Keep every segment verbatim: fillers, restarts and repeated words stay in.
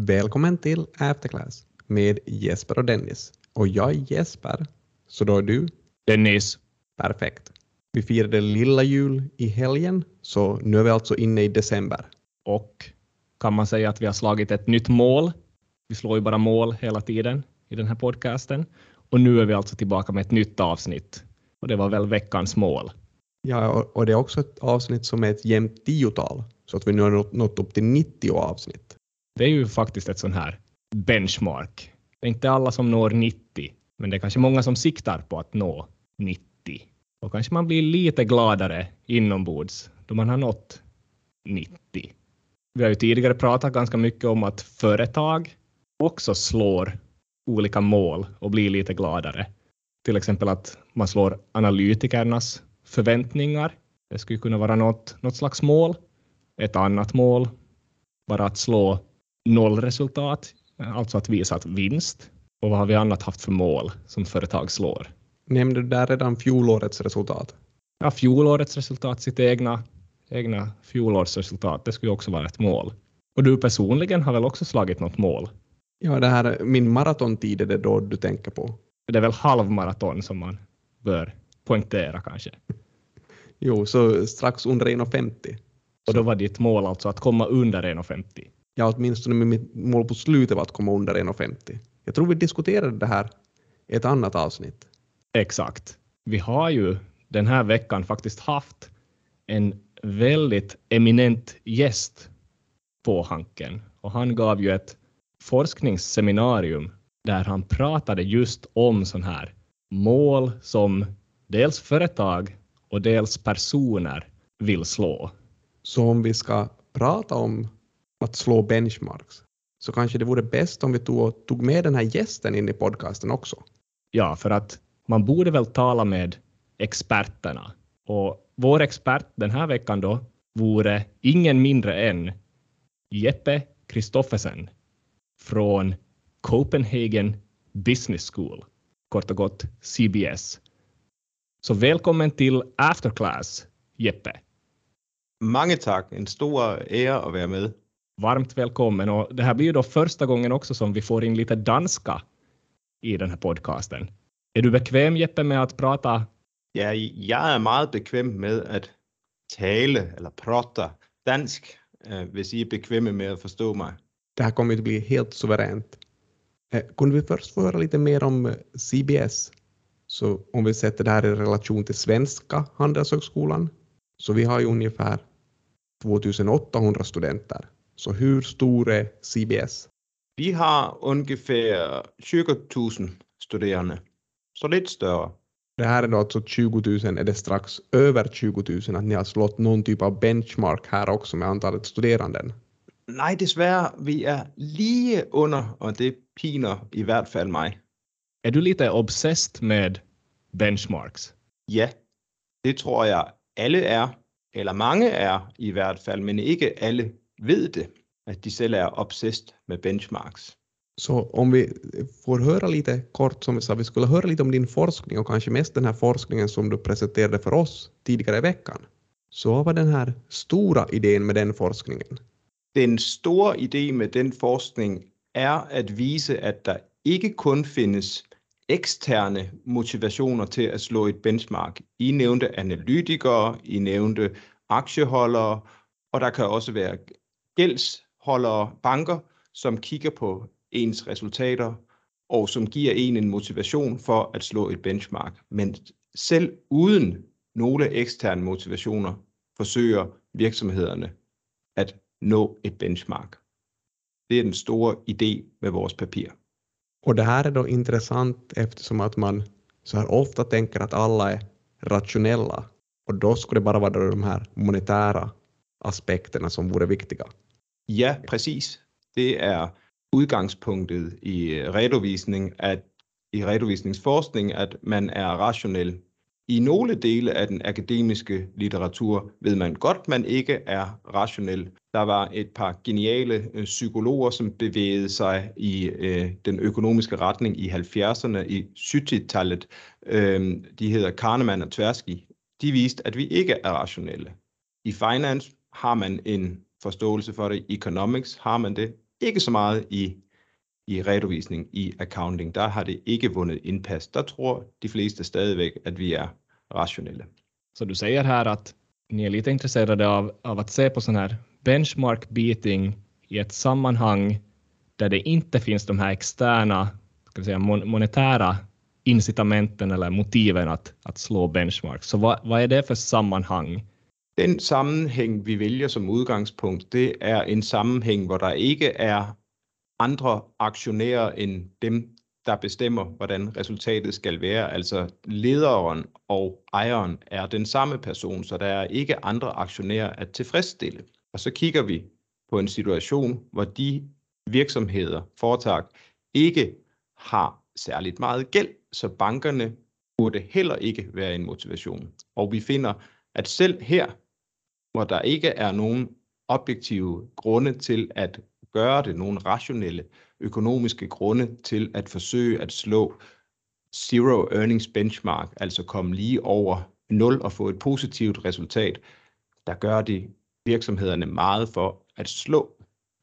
Välkommen till Afterclass med Jesper och Dennis. Och jag är Jesper, så då är du? Dennis. Perfekt. Vi firade lilla jul i helgen, så nu är vi alltså inne i december. Och kan man säga att vi har slagit ett nytt mål? Vi slår ju bara mål hela tiden i den här podcasten. Och nu är vi alltså tillbaka med ett nytt avsnitt. Och det var väl veckans mål. Ja, och det är också ett avsnitt som är ett jämnt tiotal. Så att vi nu har nått upp till nittio avsnitt. Det är ju faktiskt ett sån här benchmark. Det är inte alla som når nittio. Men det är kanske många som siktar på att nå nittio. Och kanske man blir lite gladare inombords då man har nått nittio. Vi har ju tidigare pratat ganska mycket om att företag också slår olika mål och blir lite gladare. Till exempel att man slår analytikernas förväntningar. Det skulle kunna vara något, något slags mål. Ett annat mål, bara att slå nollresultat, alltså att visa att vinst. Och vad har vi annat haft för mål som företag slår? Nämnde du där redan fjolårets resultat? Ja, fjolårets resultat, sitt egna, egna fjolårsresultat, det skulle också vara ett mål. Och du personligen har väl också slagit något mål? Ja, det här, min maratontid är det då du tänker på. Det är väl halvmaraton som man bör poängtera kanske. Jo, så strax under en komma femtio. Och då var ditt mål alltså att komma under en komma femtio? Ja, åtminstone med mitt mål på slutet var att komma under en komma femtio. Jag tror vi diskuterade det här i ett annat avsnitt. Exakt. Vi har ju den här veckan faktiskt haft en väldigt eminent gäst på Hanken. Och han gav ju ett forskningsseminarium där han pratade just om sån här mål som dels företag och dels personer vill slå. Så om vi ska prata om att slå benchmarks så kanske det vore bäst om vi tog, tog med den här gästen in i podcasten också. Ja, för att man borde väl tala med experterna. Och vår expert den här veckan då vore ingen mindre än Jeppe Kristoffersen från Copenhagen Business School, kort och gott C B S. Så välkommen till Afterclass, Jeppe. Mange tack, en stor ära att vara med. Varmt välkommen, och det här blir ju då första gången också som vi får in lite danska i den här podcasten. Är du bekväm, Jeppe, med att prata? Ja, jag är mycket bekväm med att tala eller prata dansk, hvis I är bekväma med att förstå mig. Det här kommer att bli helt suveränt. Eh, kunde vi först få höra lite mer om C B S? Så om vi sätter det här i relation till Svenska Handelshögskolan. Så vi har ju ungefär tjugoåttahundra studenter. Så hur stor är C B S? Vi har ungefär tjugo tusen studerande. Så lite större. Det här är då alltså tjugo tusen, är det strax över tjugo tusen att ni har slått någon typ av benchmark här också med antalet studeranden? Nej, dessvärre, vi är lige under, och det piner i hvert fall mig. Är du lite obsessed med benchmarks? Ja, det tror jag alla är, eller många är i hvert fall, men inte alla vet det, att de själva är obsessed med benchmarks. Så om vi får höra lite kort, som vi sa, vi skulle höra lite om din forskning och kanske mest den här forskningen som du presenterade för oss tidigare i veckan. Så vad var den här stora idén med den forskningen? Den stora idén med den forskning är att visa att det inte kun finns externa motivationer till att slå ett benchmark. I nämnde analytiker, I nämnde aktiehållare, och det kan också vara gäldshållare, banker, som kigger på ens resultater och som ger en en motivation för att slå ett benchmark. Men selv uden några externa motivationer försöker virksomhederne att nå ett benchmark. Det är den stora idén med vårt papir. Och det här är då intressant eftersom att man så här ofta tänker att alla är rationella. Och då skulle det bara vara de här monetära aspekterna som vore viktiga. Ja, precis. Det är udgangspunktet i redovisning att i redovisningsforskning att man är rationell. I några delar av den akademiska litteratur vet man gott man inte är rationell. Det var ett par geniala psykologer som bevægede sig i øh, den ekonomiska retning i halvfjerdserne i syvtiotalet. Øh, de hedder Kahneman og Tversky. De viste at vi ikke er rationelle. I finance har man en forståelse for det. I economics har man det. ikke så meget i, i redovisning, i accounting. Der har det ikke vundet indpas. Der tror de fleste stadigvæk, at vi är rationella. Så du säger här att ni är lite intresserade av, av att se på sån här benchmark beating i ett sammanhang där det inte finns de här externa, ska vi säga, mon- monetära incitamenten eller motiven att, att slå benchmark. Så vad, vad är det för sammanhang? Den sammenhæng, vi vælger som udgangspunkt, det er en sammenhæng, hvor der ikke er andre aktionærer end dem, der bestemmer, hvordan resultatet skal være. Altså lederen og ejeren er den samme person, så der er ikke andre aktionærer at tilfredsstille. Og så kigger vi på en situation, hvor de virksomheder, foretag, ikke har særligt meget gæld, så bankerne burde heller ikke være en motivation. Og vi finder, at selv her, hvor der ikke er nogen objektive grunde til at gøre det, nogle rationelle økonomiske grunde til at forsøge at slå zero earnings benchmark, altså komme lige over nul og få et positivt resultat, der gør de virksomhederne meget for at slå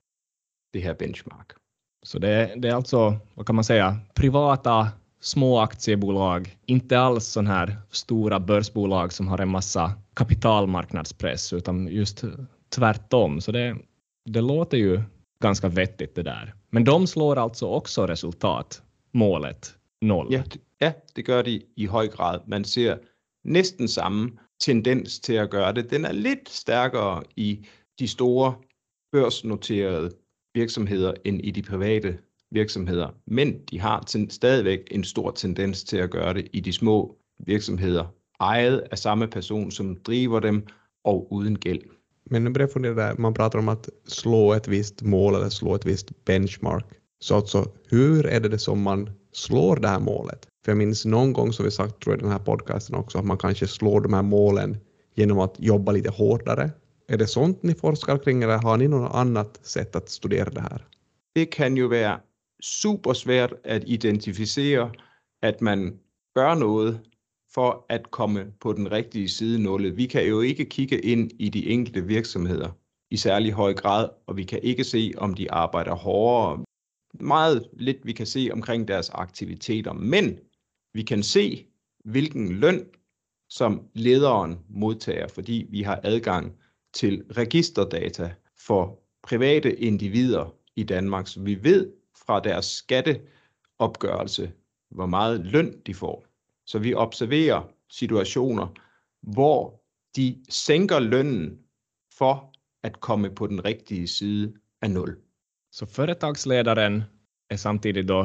det här benchmark. Så det, det är alltså, vad kan man säga, privata små aktiebolag, inte alls sån här stora börsbolag som har en massa kapitalmarknadspress, utan just tvärtom. Så det, det låter ju ganska vettigt det där. Men de slår alltså också resultat, målet, noll. Ja, ja, det gør de i høj grad. Man ser næsten samme tendens til at gøre det. Den er lidt stærkere i de store børsnoterede virksomheder end i de private virksomheder, men de har ten, stadigvæk en stor tendens til at gøre det i de små virksomheder, ejet af samme person, som driver dem og uden gæld. Men nu börjar jag fundera där, man pratar om att slå ett visst mål eller slå ett visst benchmark. Så alltså, hur är det, det som man slår det här målet? För jag minns någon gång så vi sagt, tror jag i den här podcasten också, att man kanske slår de här målen genom att jobba lite hårdare. Är det sånt ni forskar kring eller har ni något annat sätt att studera det här? Det kan ju være super svært at identificere, at man gør noget for at komme på den rigtige side nullet. Vi kan jo ikke kigge ind i de enkelte virksomheder i særlig høj grad, og vi kan ikke se, om de arbejder hårdere. Meget lidt vi kan se omkring deres aktiviteter, men vi kan se, hvilken løn som lederen modtager, fordi vi har adgang til registerdata for private individer i Danmark, så vi ved fra deres skatteopgørelse, hvor meget løn de får. Så vi observerer situationer, hvor de sænker lönnen for att komma på den riktiga side av noll. Så företagsledaren är samtidigt då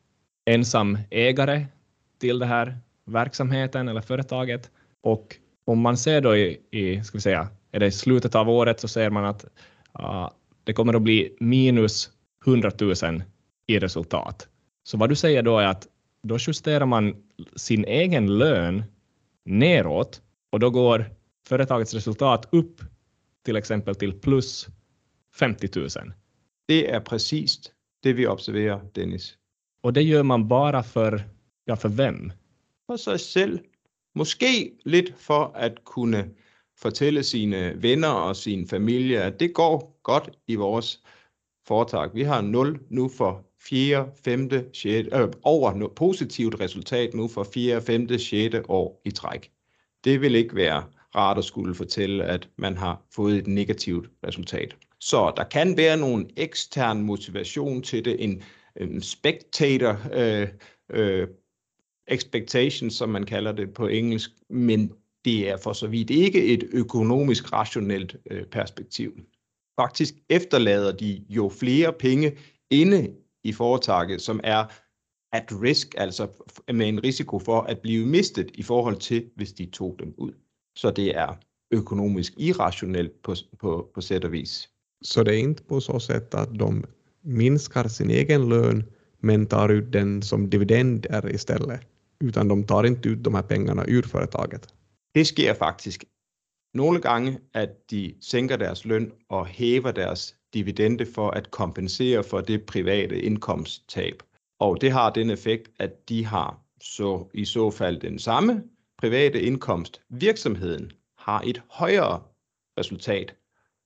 ensam ägare till det här verksamheten eller företaget, och om man ser då i, i ska vi säga, är det i slutet av året så ser man att uh, det kommer att bli minus hundratusen i resultat. Så vad du säger då är att då justerar man sin egen lön neråt och då går företagets resultat upp till exempel till plus femtiotusen. Det är precis det vi observerar, Dennis. Och det gör man bara för, ja, för vem? For sig selv. Måske lidt for at kunne fortælle sine venner og sin familie, at det går godt i vores foretag. Vi har nul nu for fjerde, femte, sjette, øh, over no, positivt resultat nu for fjerde, femte, sjette år i træk. Det vil ikke være rart at skulle fortælle, at man har fået et negativt resultat. Så der kan være nogle ekstern motivation til det, en, en spectator øh, øh, expectation, som man kalder det på engelsk, men det er for så vidt ikke et økonomisk rationelt øh, perspektiv. Faktisk efterlader de jo flere penge inde i foretaget, som er at risk, altså med en risiko for at blive mistet i forhold til, hvis de tog dem ud. Så det är økonomisk irrationellt på, på, på sätt och vis. Så det är inte på så sätt att de minskar sin egen lön men tar ut den som dividender istället, utan de tar inte ut de här pengarna ur företaget? Det sker faktisk nogle gange, at de sænker deres løn og hæver deres dividende for at kompensere for det private indkomsttab. Og det har den effekt, at de har så i så fald den samme private indkomst. Virksomheden har et højere resultat,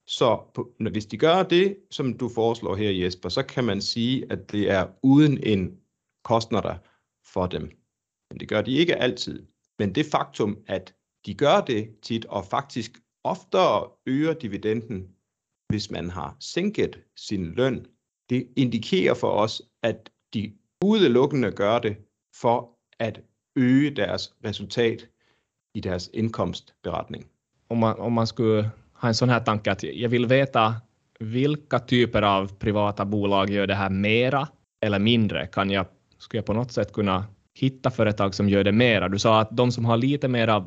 Så på, når, hvis de gør det, som du foreslår her, Jesper, så kan man sige, at det er uden en kostnader for dem. Men det gør de ikke altid. Men det faktum, at de gør det tit, og faktisk oftere øger dividenden, hvis man har sænket sin løn, det indikerer for os, at de udelukkende gør det for at øge deres resultat i deres indkomstberetning. Om man, om man skulle ha en sån här tanke att jag vill veta vilka typer av privata bolag gör det här mera eller mindre, kan jag, skulle jag på något sätt kunna hitta företag som gör det mera? Du sa att de som har lite mera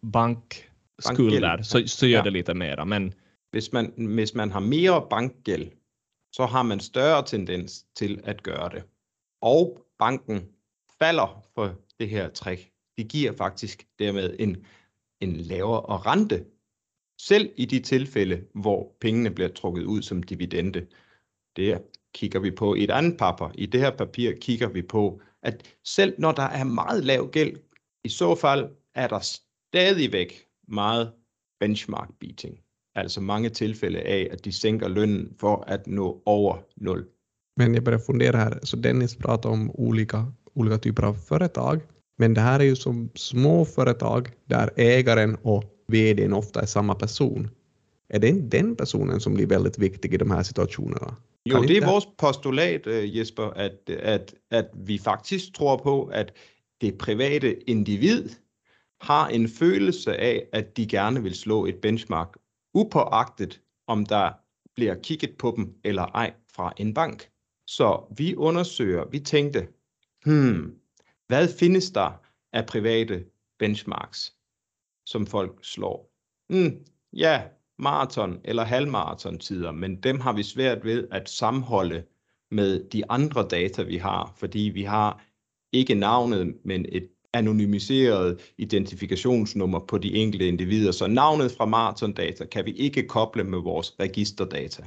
bankskulder så, så gör ja. det lite mera. Men hvis man, hvis man har mere bankgæld, så har man større tendens til at gøre det. Og banken falder for det her trick. Det giver faktisk dermed en, en lavere rente, selv i de tilfælde, hvor pengene bliver trukket ud som dividende. Det kigger vi på i et andet papir. I det her papir kigger vi på, at selv når der er meget lav gæld, i så fald er der stadigvæk meget benchmark beating. Altså mange tilfælde af, at de sänker lönen för att nå över noll. Men jag börjar fundera här, så Dennis pratar om olika, olika typer av företag. Men det här är ju som små företag där ägaren och vdn ofta är samma person. Är det inte den personen som blir väldigt viktig i de här situationerna? Jo, det är vårt postulat, Jesper, att, att, att vi faktiskt tror på, att det private individ har en følelse af, at de gerne vil slå et benchmark, upåagtet om der bliver kigget på dem eller ej fra en bank. Så vi undersøger, vi tænkte, hmm, hvad findes der af private benchmarks, som folk slår? Hmm, ja, maraton eller halvmaraton tider, men dem har vi svært ved at sammenholde med de andre data, vi har, fordi vi har ikke navnet, men et anonymiseret identifikationsnummer på de enkelte individer, så navnet fra maratondata kan vi ikke koble med vores registerdata.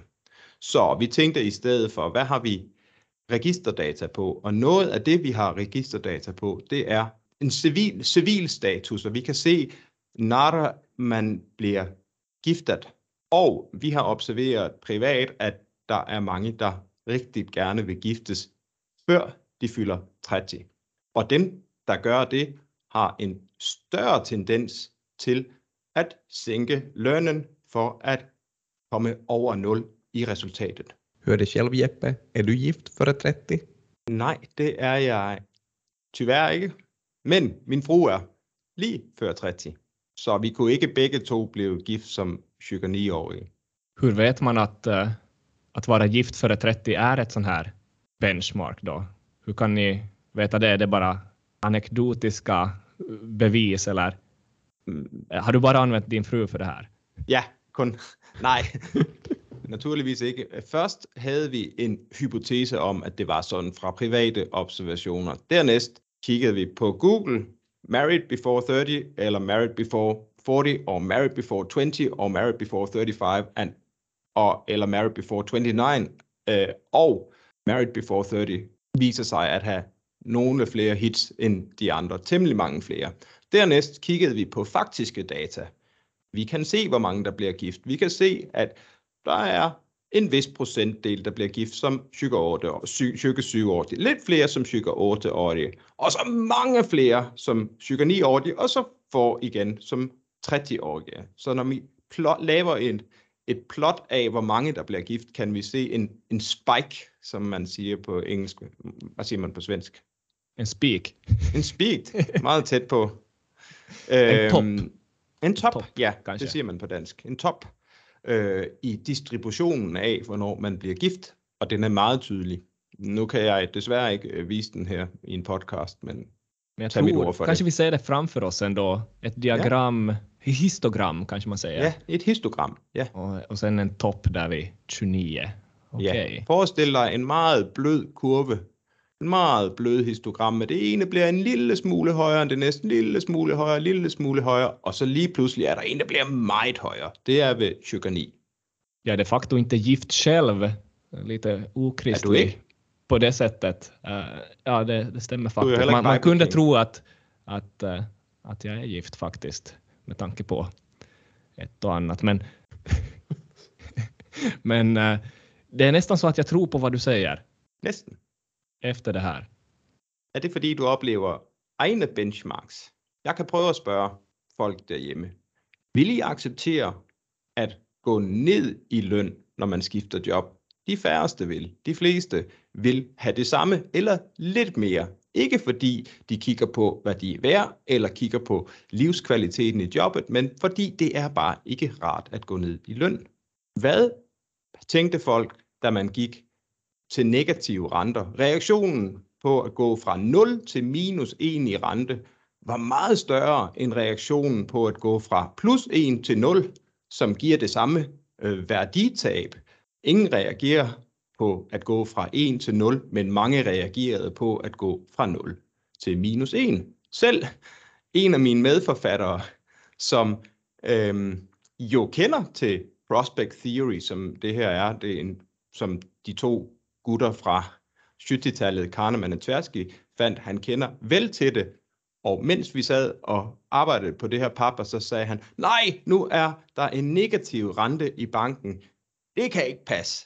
Så vi tænkte i stedet for, hvad har vi registerdata på? Og noget af det, vi har registerdata på, det er en civil, civil status, og vi kan se, når man bliver giftet. Og vi har observeret privat, at der er mange, der rigtig gerne vil giftes, før de fylder tretti. Og dem, der gør det, har en større tendens til at sænke lønnen for at komme over nul i resultatet. Hör det själv, Jeppe? Är du gift före trettio? Nej, det er jeg tyvärr ikke. Men min fru er lige før tretti. Så vi kunne ikke begge to blive gift som tjugonio-årige. Hur vet man att, uh, att vara gift före trettio är ett sån här benchmark då? Hur kan ni veta det? Är det bara anekdotiska bevis eller har du bara använt din fru för det här? Ja, kun nej. Naturligvis ikke. Først havde vi en hypotese om, at det var sådan fra private observationer. Dernæst kiggede vi på Google, married before thirty, eller married before forty, or married before twenty, or married before thirty-five, and, or, eller married before twenty-nine, øh, og married before thirty viser sig at have nogle flere hits end de andre, temmelig mange flere. Dernæst kiggede vi på faktiske data. Vi kan se, hvor mange der bliver gift. Vi kan se, at der er en vis procentdel, der bliver gift som tjugoårige, lidt flere som tjugoårige, og så mange flere som tjugonio-årige, og så får igen som tretti-årige. Så når vi plot, laver en, et plot af, hvor mange der bliver gift, kan vi se en, en spike, som man siger på engelsk. Hvad siger man på svensk? En speak. En speak, meget tæt på. En top. Øhm, en top, top ja, kanskje. Det siger man på dansk. En top øh, i distributionen af, hvornår man bliver gift, og den er meget tydelig. Nu kan jeg desværre ikke øh, vise den her i en podcast, men, men jag tag mit tror, ord for kanske det. vi ser det framför oss ändå. Ett diagram, ja. Histogram kanske man säger. Ja, et histogram, ja. Och, och sen en topp där vid tjugonio. Okay. Ja. Forestil dig en meget blød kurve. En meget blød histogram, med det ene bliver en lille smule højere end det næste, en lille smule højere, en lille smule højere, og så lige pludselig er der en, der bliver meget højere. Det er ved tjugoni. Jag är de facto inte gift själv, lite okristlig på det sättet. Uh, ja, det, det stämmer faktiskt. Man, man kunde tro att, att, uh, att jag är gift faktiskt, med tanke på ett och annat. Men Men uh, det är nästan så att jag tror på vad du säger. Næsten. Efter det här. Er det fordi, du oplever egne benchmarks? Jeg kan prøve at spørge folk derhjemme. Vil I acceptere at gå ned i løn, når man skifter job? De færreste vil. De fleste vil have det samme eller lidt mere. Ikke fordi de kigger på, hvad de er værd, eller kigger på livskvaliteten i jobbet, men fordi det er bare ikke rart at gå ned i løn. Hvad tænkte folk, da man gik til negative renter? Reaktionen på at gå fra nul til minus en i rente var meget større end reaktionen på at gå fra plus en til nul, som giver det samme øh, værditab. Ingen reagerer på at gå fra en til nul, men mange reagerede på at gå fra nul til minus en. Selv en af mine medforfattere, som øhm, jo kender til Prospect Theory, som det her er, det er en, som de to gutter fra syvogtyve-tallet, Kahneman og Tversky, fandt, han kender vel til det. Og mens vi sad og arbejdede på det her papir, så sagde han, nej, nu er der en negativ rente i banken. Det kan ikke passe.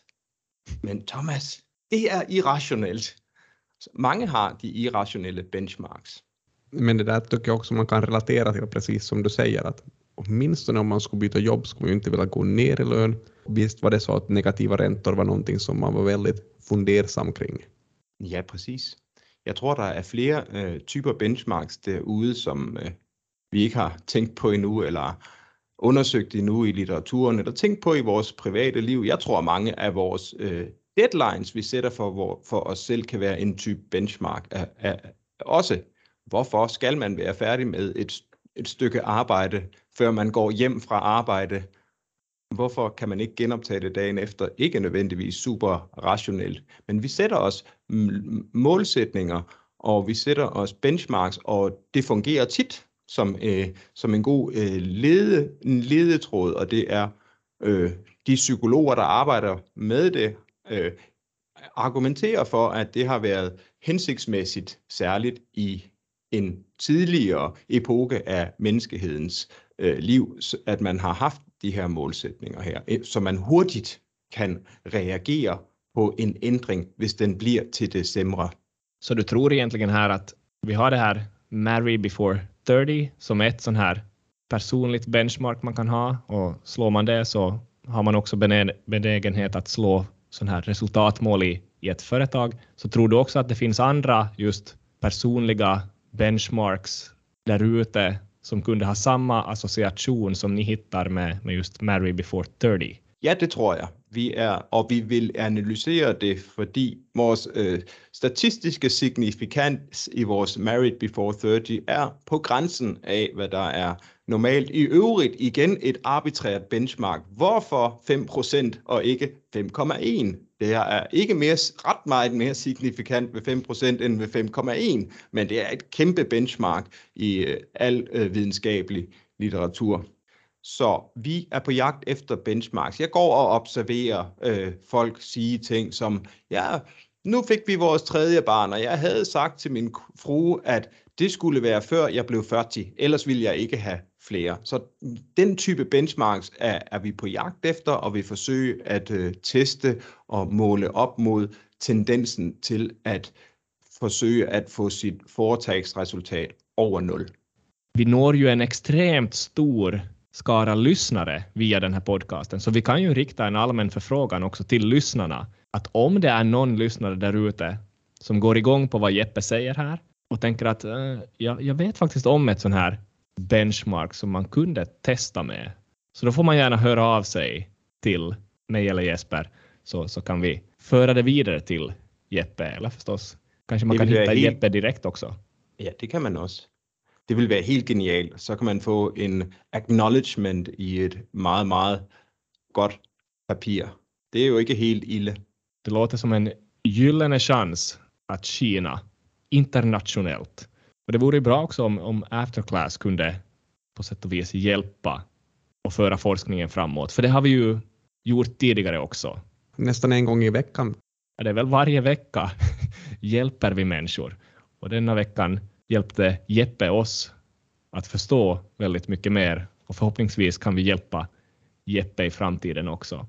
Men Thomas, det er irrationellt. Mange har de irrationella benchmarks. Men det där tycker jag också man kan relatera till, precis som du säger, att åtminstone om man skulle byta jobb skulle man ju inte vilja gå ner i lön. Visst var det så att negativa räntor var någonting som man var väldigt fundersam kring. Ja, precis. Jeg tror, der er flere øh, typer benchmarks derude, som øh, vi ikke har tænkt på endnu, eller undersøgt endnu i litteraturen, eller tænkt på i vores private liv. Jeg tror, mange af vores øh, deadlines, vi sætter for, hvor, for os selv, kan være en type benchmark. Af, af, også, hvorfor skal man være færdig med et, et stykke arbejde, før man går hjem fra arbejde? Hvorfor kan man ikke genoptage det dagen efter? Ikke nødvendigvis super rationelt, men vi sætter os målsætninger, og vi sætter os benchmarks, og det fungerer tit som, øh, som en god øh, lede, en ledetråd, og det er øh, de psykologer, der arbejder med det, øh, argumenterer for, at det har været hensigtsmæssigt, særligt i en tidligere epoke af menneskehedens øh, liv, at man har haft de her målsætninger her, så man hurtigt kan reagere på en ændring, hvis den bliver til det sämre. Så du tror egentligen här att vi har det här marry before thirty som ett sån här personligt benchmark man kan ha, och slår man det så har man också benägenhet att slå sån här resultatmål i, i ett företag. Så tror du också att det finns andra just personliga benchmarks där ute som kunde ha samma association som ni hittar med, med just marry before thirty? Ja, det tror jeg. Vi er, og vi vil analysere det, fordi vores øh, statistiske signifikans i vores married before thirty er på grænsen af, hvad der er normalt. I øvrigt igen et arbitrært benchmark. Hvorfor fem procent og ikke fem komma en? Det er ikke mere, ret meget mere signifikant ved fem procent end ved fem komma en, men det er et kæmpe benchmark i øh, al øh, videnskabelig litteratur. Så vi er på jagt efter benchmarks. Jeg går og observerer øh, folk sige ting som, ja, nu fik vi vores tredje barn, og jeg havde sagt til min frue, at det skulle være før jeg blev fyrre, ellers ville jeg ikke have flere. Så den type benchmarks er, er vi på jagt efter, og vi forsøger at øh, teste og måle op mod tendensen til at forsøge at få sit foretagsresultat over nul. Vi når ju en extremt stor skara lyssnare via den här podcasten, så vi kan ju rikta en allmän förfrågan också till lyssnarna, att om det är någon lyssnare där ute som går igång på vad Jeppe säger här och tänker att uh, jag, jag vet faktiskt om ett sån här benchmark som man kunde testa med, så då får man gärna höra av sig till mig eller Jesper, så, så kan vi föra det vidare till Jeppe, eller förstås kanske man kan hitta helt... Jeppe direkt också. Ja, det kan man også. Det vil være helt genialt. Så kan man få en acknowledgement i et meget, meget godt papir. Det är ju inte helt illa. Det låter som en gyllene chans att skina internationellt. Och det vore bra också om, om Afterclass kunde på sätt och vis hjälpa och föra forskningen framåt. För det har vi ju gjort tidigare också. Nästan en gång i veckan. Ja, det är väl varje vecka hjälper vi människor. Och denna veckan hjälpte Jeppe oss att förstå väldigt mycket mer. Och förhoppningsvis kan vi hjälpa Jeppe i framtiden också.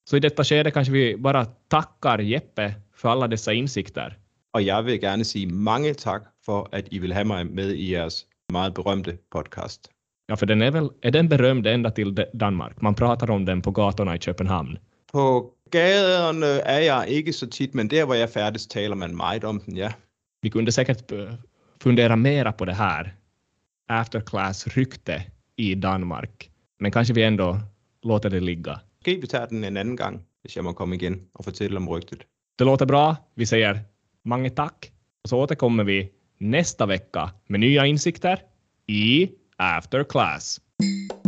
Så i detta skede kanske vi bara tackar Jeppe för alla dessa insikter. Och jag vill gärna säga många tack för att I vill ha mig med i ers meget berömda podcast. Ja, för den är väl är den berömd ända till Danmark. Man pratar om den på gatorna i Köpenhamn. På gatorna är jag inte så titt, men där var jag färdig talar man meget om den, ja. Vi kunde säkert fundera mera på det här afterclass-rykte i Danmark. Men kanske vi ändå låter det ligga. Ska vi ta den en annan gång, om jag må komma igen och fortälla om ryktet. Det låter bra. Vi säger många tack. Och så återkommer vi nästa vecka med nya insikter i After Class.